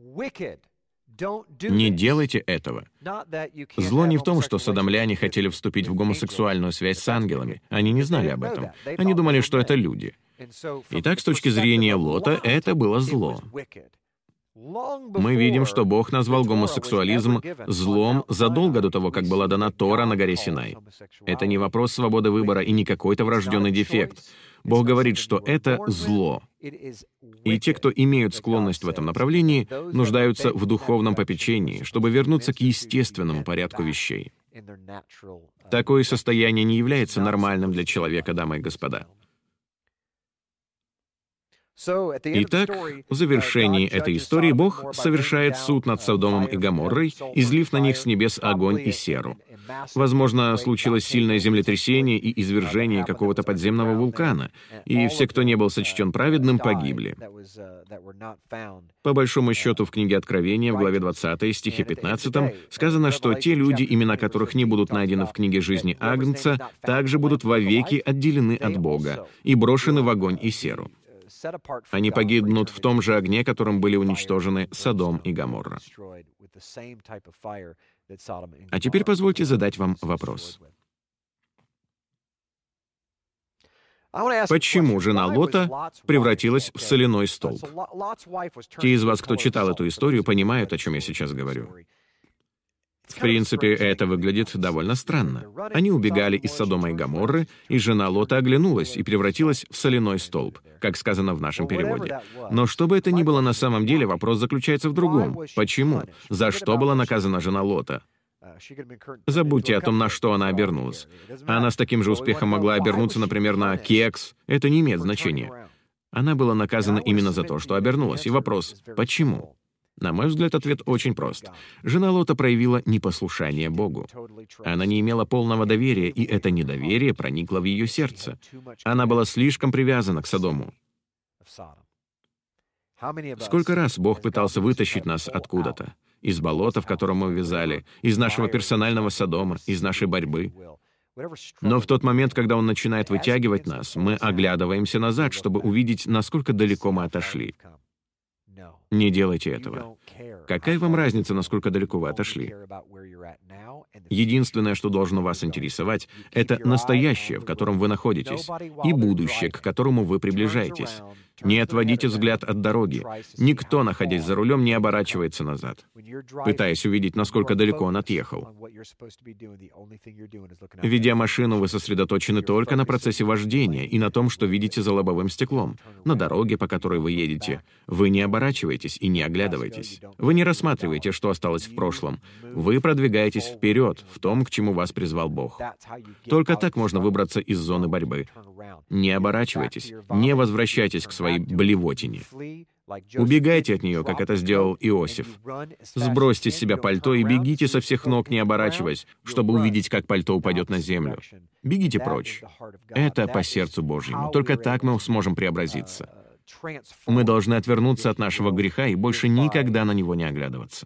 Не делайте этого. Зло не в том, что содомляне хотели вступить в гомосексуальную связь с ангелами. Они не знали об этом. Они думали, что это люди. Итак, с точки зрения Лота, это было зло. Мы видим, что Бог назвал гомосексуализм злом задолго до того, как была дана Тора на горе Синай. Это не вопрос свободы выбора и не какой-то врожденный дефект. Бог говорит, что это зло. И те, кто имеют склонность в этом направлении, нуждаются в духовном попечении, чтобы вернуться к естественному порядку вещей. Такое состояние не является нормальным для человека, дамы и господа. Итак, в завершении этой истории Бог совершает суд над Содомом и Гоморрой, излив на них с небес огонь и серу. Возможно, случилось сильное землетрясение и извержение какого-то подземного вулкана, и все, кто не был сочтен праведным, погибли. По большому счету, в книге Откровения, в главе двадцатой, стихе пятнадцатом, сказано, что те люди, имена которых не будут найдены в книге жизни Агнца, также будут вовеки отделены от Бога и брошены в огонь и серу. Они погибнут в том же огне, которым были уничтожены Содом и Гоморра. А теперь позвольте задать вам вопрос. Почему жена Лота превратилась в соляной столб? Те из вас, кто читал эту историю, понимают, о чем я сейчас говорю. В принципе, это выглядит довольно странно. Они убегали из Содома и Гоморры, и жена Лота оглянулась и превратилась в соляной столб, как сказано в нашем переводе. Но что бы это ни было на самом деле, вопрос заключается в другом. Почему? За что была наказана жена Лота? Забудьте о том, на что она обернулась. Она с таким же успехом могла обернуться, например, на кекс. Это не имеет значения. Она была наказана именно за то, что обернулась. И вопрос — почему? На мой взгляд, ответ очень прост. Жена Лота проявила непослушание Богу. Она не имела полного доверия, и это недоверие проникло в ее сердце. Она была слишком привязана к Содому. Сколько раз Бог пытался вытащить нас откуда-то? Из болота, в котором мы увязали, из нашего персонального Содома, из нашей борьбы. Но в тот момент, когда Он начинает вытягивать нас, мы оглядываемся назад, чтобы увидеть, насколько далеко мы отошли. Не делайте этого. Какая вам разница, насколько далеко вы отошли? Единственное, что должно вас интересовать, это настоящее, в котором вы находитесь, и будущее, к которому вы приближаетесь. Не отводите взгляд от дороги. Никто, находясь за рулем, не оборачивается назад, пытаясь увидеть, насколько далеко он отъехал. Ведя машину, вы сосредоточены только на процессе вождения и на том, что видите за лобовым стеклом, на дороге, по которой вы едете. Вы не оборачиваетесь и не оглядываетесь. Вы не рассматриваете, что осталось в прошлом. Вы продвигаетесь вперед, в том, к чему вас призвал Бог. Только так можно выбраться из зоны борьбы. Не оборачивайтесь, не возвращайтесь к своей блевотине. Убегайте от нее, как это сделал Иосиф. Сбросьте с себя пальто и бегите со всех ног, не оборачиваясь, чтобы увидеть, как пальто упадет на землю. Бегите прочь. Это по сердцу Божьему. Только так мы сможем преобразиться. Мы должны отвернуться от нашего греха и больше никогда на него не оглядываться.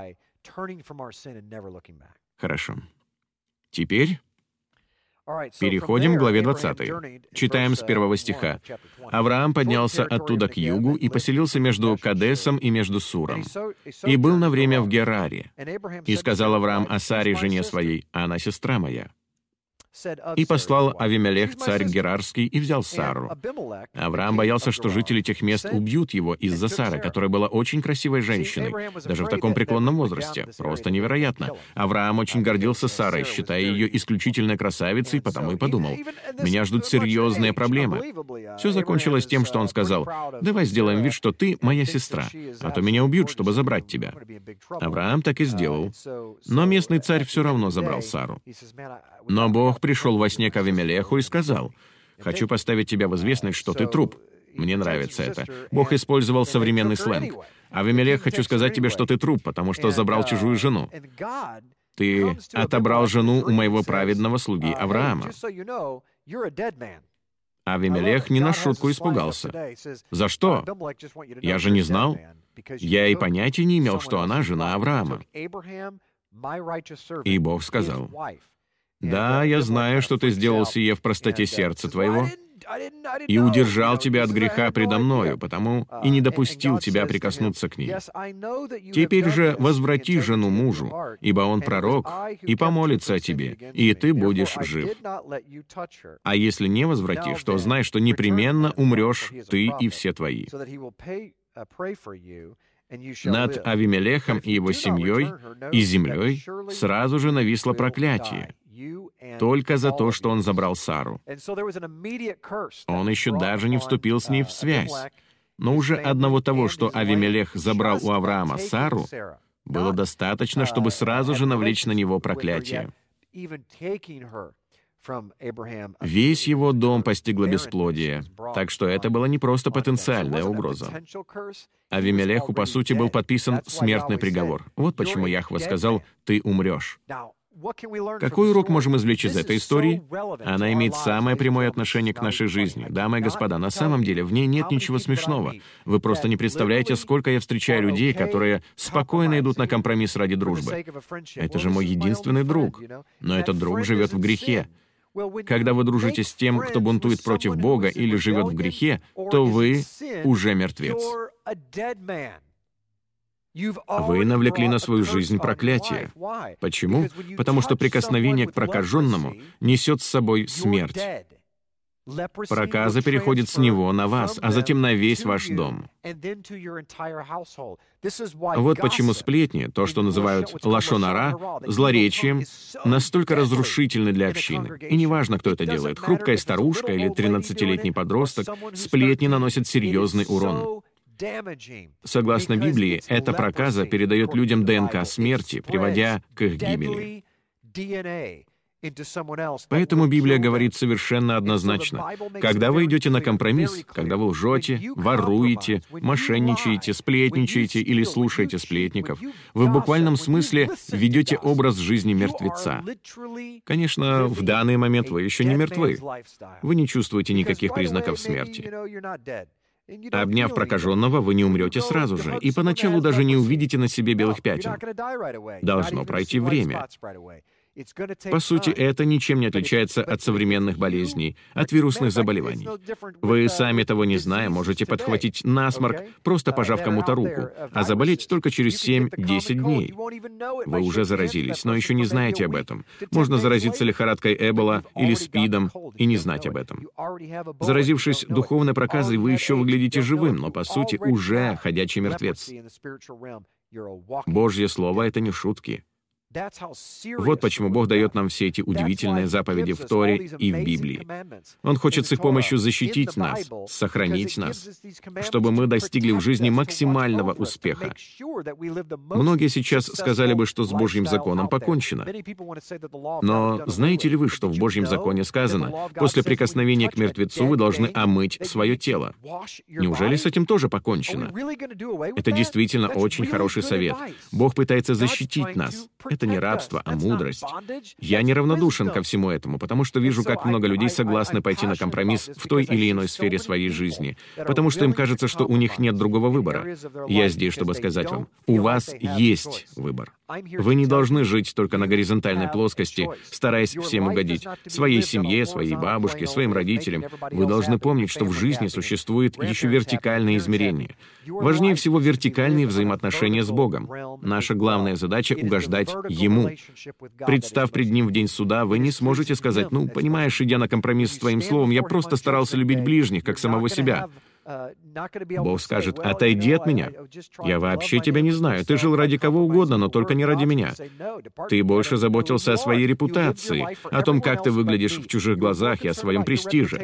Хорошо. Теперь переходим к главе двадцатой. Читаем с первого стиха. «Авраам поднялся оттуда к югу и поселился между Кадесом и между Суром, и был на время в Гераре. И сказал Авраам о Саре, жене своей, а она сестра моя. И послал Авимелех, царь Герарский, и взял Сару. Авраам боялся, что жители тех мест убьют его из-за Сары, которая была очень красивой женщиной, даже в таком преклонном возрасте. Просто невероятно. Авраам очень гордился Сарой, считая ее исключительной красавицей, потому и подумал: меня ждут серьезные проблемы. Все закончилось тем, что он сказал: давай сделаем вид, что ты моя сестра, а то меня убьют, чтобы забрать тебя. Авраам так и сделал. Но местный царь все равно забрал Сару. Но Бог пришел во сне к Авимелеху и сказал: «Хочу поставить тебя в известность, что ты труп». Мне нравится это. Бог использовал современный сленг. «Авимелех, хочу сказать тебе, что ты труп, потому что забрал чужую жену. Ты отобрал жену у моего праведного слуги Авраама». Авимелех не на шутку испугался. «За что? Я же не знал. Я и понятия не имел, что она жена Авраама». И Бог сказал: «Да, я знаю, что ты сделал сие в простоте сердца твоего, и удержал тебя от греха предо мною, потому и не допустил тебя прикоснуться к ней. Теперь же возврати жену мужу, ибо он пророк, и помолится о тебе, и ты будешь жив. А если не возвратишь, то знай, что непременно умрешь ты и все твои». Над Авимелехом и его семьей и землей сразу же нависло проклятие, только за то, что он забрал Сару. Он еще даже не вступил с ней в связь. Но уже одного того, что Авимелех забрал у Авраама Сару, было достаточно, чтобы сразу же навлечь на него проклятие. Весь его дом постигло бесплодие, так что это была не просто потенциальная угроза. Авимелеху, по сути, был подписан смертный приговор. Вот почему Яхве сказал: «Ты умрешь». Какой урок можем извлечь из этой истории? Она имеет самое прямое отношение к нашей жизни. Дамы и господа, на самом деле в ней нет ничего смешного. Вы просто не представляете, сколько я встречаю людей, которые спокойно идут на компромисс ради дружбы. Это же мой единственный друг. Но этот друг живет в грехе. Когда вы дружите с тем, кто бунтует против Бога или живет в грехе, то вы уже мертвец. Вы навлекли на свою жизнь проклятие. Почему? Потому что прикосновение к прокаженному несет с собой смерть. Проказа переходит с него на вас, а затем на весь ваш дом. Вот почему сплетни, то, что называют лашон ара, злоречием, настолько разрушительны для общины. И неважно, кто это делает, хрупкая старушка или тринадцатилетний подросток, сплетни наносят серьезный урон. Согласно Библии, эта проказа передает людям ДНК смерти, приводя к их гибели. Поэтому Библия говорит совершенно однозначно: когда вы идете на компромисс, когда вы лжете, воруете, мошенничаете, сплетничаете или слушаете сплетников, вы в буквальном смысле ведете образ жизни мертвеца. Конечно, в данный момент вы еще не мертвы. Вы не чувствуете никаких признаков смерти. Обняв прокаженного, вы не умрете сразу же, и поначалу даже не увидите на себе белых пятен. Должно пройти время. По сути, это ничем не отличается от современных болезней, от вирусных заболеваний. Вы, сами того не зная, можете подхватить насморк, просто пожав кому-то руку, а заболеть только через семь-десять дней. Вы уже заразились, но еще не знаете об этом. Можно заразиться лихорадкой Эбола или СПИДом и не знать об этом. Заразившись духовной проказой, вы еще выглядите живым, но, по сути, уже ходячий мертвец. Божье Слово — это не шутки. Вот почему Бог дает нам все эти удивительные заповеди в Торе и в Библии. Он хочет с их помощью защитить нас, сохранить нас, чтобы мы достигли в жизни максимального успеха. Многие сейчас сказали бы, что с Божьим законом покончено. Но знаете ли вы, что в Божьем законе сказано: после прикосновения к мертвецу вы должны омыть свое тело? Неужели с этим тоже покончено? Это действительно очень хороший совет. Бог пытается защитить нас. Это не рабство, а мудрость. Я неравнодушен ко всему этому, потому что вижу, как много людей согласны пойти на компромисс в той или иной сфере своей жизни, потому что им кажется, что у них нет другого выбора. Я здесь, чтобы сказать вам: у вас есть выбор. Вы не должны жить только на горизонтальной плоскости, стараясь всем угодить. Своей семье, своей бабушке, своим родителям. Вы должны помнить, что в жизни существует еще вертикальное измерение. Важнее всего вертикальные взаимоотношения с Богом. Наша главная задача — угождать Ему. Представ пред Ним в день суда, вы не сможете сказать: «Ну, понимаешь, идя на компромисс с Твоим Словом, я просто старался любить ближних, как самого себя». Бог скажет: «Отойди от меня. Я вообще тебя не знаю. Ты жил ради кого угодно, но только не ради меня. Ты больше заботился о своей репутации, о том, как ты выглядишь в чужих глазах и о своем престиже.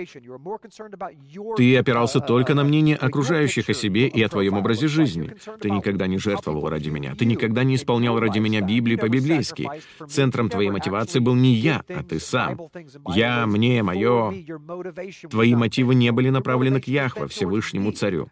Ты опирался только на мнение окружающих о себе и о твоем образе жизни. Ты никогда не жертвовал ради меня. Ты никогда не исполнял ради меня Библию по-библейски. Центром твоей мотивации был не я, а ты сам. Я, мне, мое. Твои мотивы не были направлены к Яхве, Всевышнему Царю.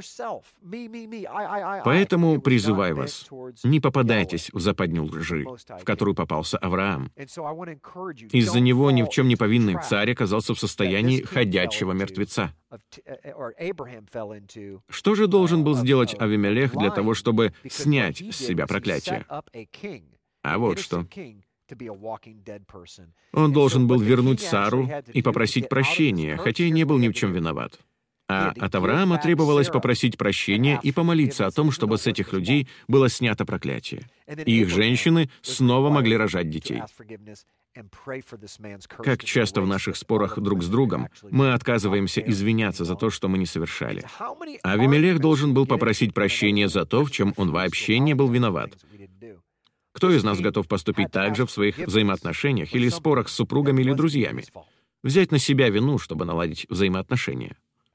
Поэтому призываю вас, не попадайтесь в западню лжи, в которую попался Авраам. Из-за него ни в чем не повинный царь оказался в состоянии ходячего мертвеца. Что же должен был сделать Авимелех для того, чтобы снять с себя проклятие? А вот что. Он должен был вернуть Сару и попросить прощения, хотя и не был ни в чем виноват. А от Авраама требовалось попросить прощения и помолиться о том, чтобы с этих людей было снято проклятие. И их женщины снова могли рожать детей. Как часто в наших спорах друг с другом мы отказываемся извиняться за то, что мы не совершали. Авимелех должен был попросить прощения за то, в чем он вообще не был виноват. Кто из нас готов поступить так же в своих взаимоотношениях или спорах с супругами или друзьями? Взять на себя вину, чтобы наладить взаимоотношения.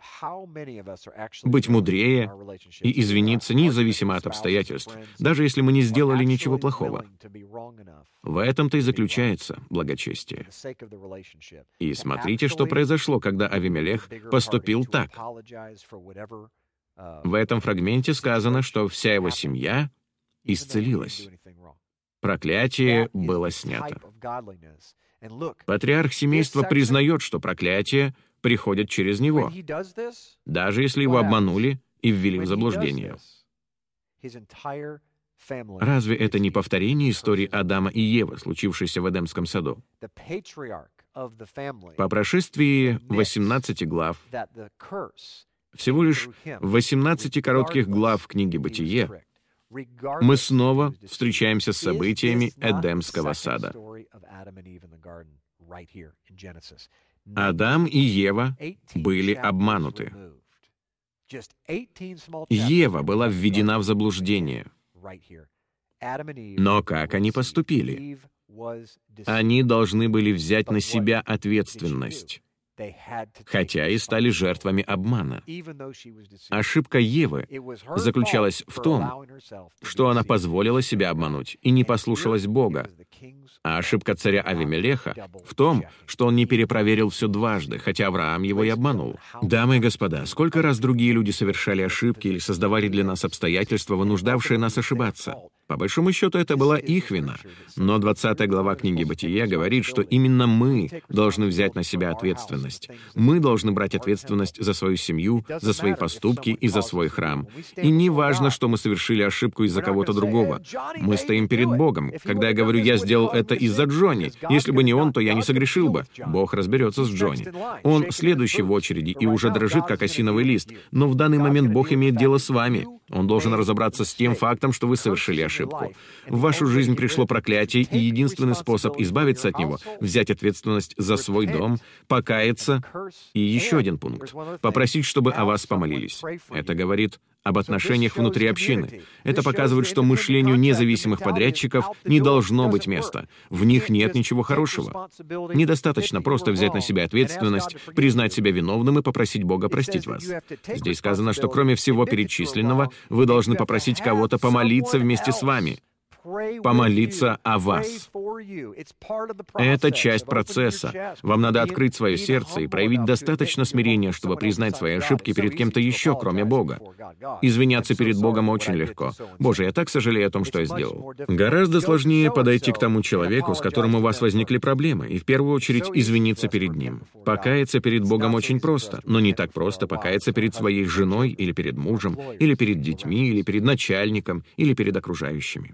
Быть мудрее и извиниться независимо от обстоятельств, даже если мы не сделали ничего плохого. В этом-то и заключается благочестие. И смотрите, что произошло, когда Авимелех поступил так. В этом фрагменте сказано, что вся его семья исцелилась. Проклятие было снято. Патриарх семейства признает, что проклятие приходит через него, даже если его обманули и ввели в заблуждение. Разве это не повторение истории Адама и Евы, случившейся в Эдемском саду? По прошествии восемнадцати глав, всего лишь восемнадцати коротких глав книги «Бытие», мы снова встречаемся с событиями Эдемского сада. Адам и Ева были обмануты. Ева была введена в заблуждение. Но как они поступили? Они должны были взять на себя ответственность, хотя и стали жертвами обмана. Ошибка Евы заключалась в том, что она позволила себя обмануть и не послушалась Бога. А ошибка царя Авимелеха в том, что он не перепроверил все дважды, хотя Авраам его и обманул. Дамы и господа, сколько раз другие люди совершали ошибки или создавали для нас обстоятельства, вынуждавшие нас ошибаться? По большому счету, это была их вина. Но двадцатая глава книги «Бытие» говорит, что именно мы должны взять на себя ответственность. Мы должны брать ответственность за свою семью, за свои поступки и за свой храм. И не важно, что мы совершили ошибку из-за кого-то другого. Мы стоим перед Богом. Когда я говорю «я сделал это из-за Джонни», если бы не он, то я не согрешил бы. Бог разберется с Джонни. Он следующий в очереди и уже дрожит, как осиновый лист. Но в данный момент Бог имеет дело с вами. Он должен разобраться с тем фактом, что вы совершили ошибку. В вашу жизнь пришло проклятие, и единственный способ избавиться от него — взять ответственность за свой дом, покаяться. И еще один пункт — попросить, чтобы о вас помолились. Это говорит об отношениях внутри общины. Это показывает, что мышлению независимых подрядчиков не должно быть места. В них нет ничего хорошего. Недостаточно просто взять на себя ответственность, признать себя виновным и попросить Бога простить вас. Здесь сказано, что кроме всего перечисленного, вы должны попросить кого-то помолиться вместе с вами. Помолиться о вас. Это часть процесса. Вам надо открыть свое сердце и проявить достаточно смирения, чтобы признать свои ошибки перед кем-то еще, кроме Бога. Извиняться перед Богом очень легко. «Боже, я так сожалею о том, что я сделал». Гораздо сложнее подойти к тому человеку, с которым у вас возникли проблемы, и в первую очередь извиниться перед ним. Покаяться перед Богом очень просто, но не так просто покаяться перед своей женой или перед мужем, или перед детьми, или перед начальником, или перед окружающими.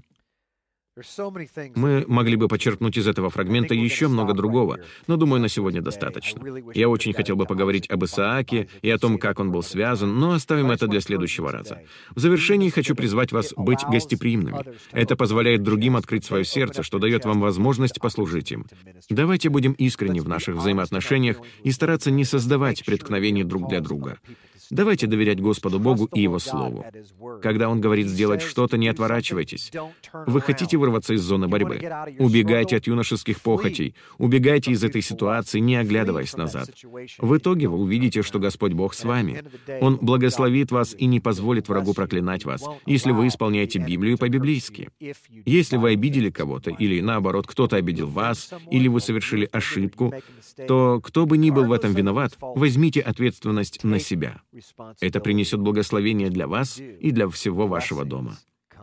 Мы могли бы почерпнуть из этого фрагмента еще много другого, но, думаю, на сегодня достаточно. Я очень хотел бы поговорить об Исааке и о том, как он был связан, но оставим это для следующего раза. В завершении хочу призвать вас быть гостеприимными. Это позволяет другим открыть свое сердце, что дает вам возможность послужить им. Давайте будем искренни в наших взаимоотношениях и стараться не создавать преткновений друг для друга. Давайте доверять Господу Богу и Его Слову. Когда Он говорит сделать что-то, не отворачивайтесь. Вы хотите вырваться из зоны борьбы? Убегайте от юношеских похотей. Убегайте из этой ситуации, не оглядываясь назад. В итоге вы увидите, что Господь Бог с вами. Он благословит вас и не позволит врагу проклинать вас, если вы исполняете Библию по-библейски. Если вы обидели кого-то, или наоборот, кто-то обидел вас, или вы совершили ошибку, то кто бы ни был в этом виноват, возьмите ответственность на себя. Это принесет благословение для вас и для всего вашего дома.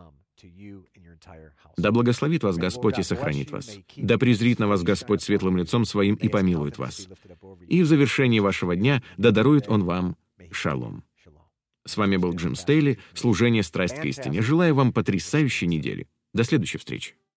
Да благословит вас Господь и сохранит вас. Да презрит на вас Господь светлым лицом своим и помилует вас. И в завершении вашего дня да дарует Он вам шалом. С вами был Джим Стейли, служение «Страсть к истине». Желаю вам потрясающей недели. До следующей встречи.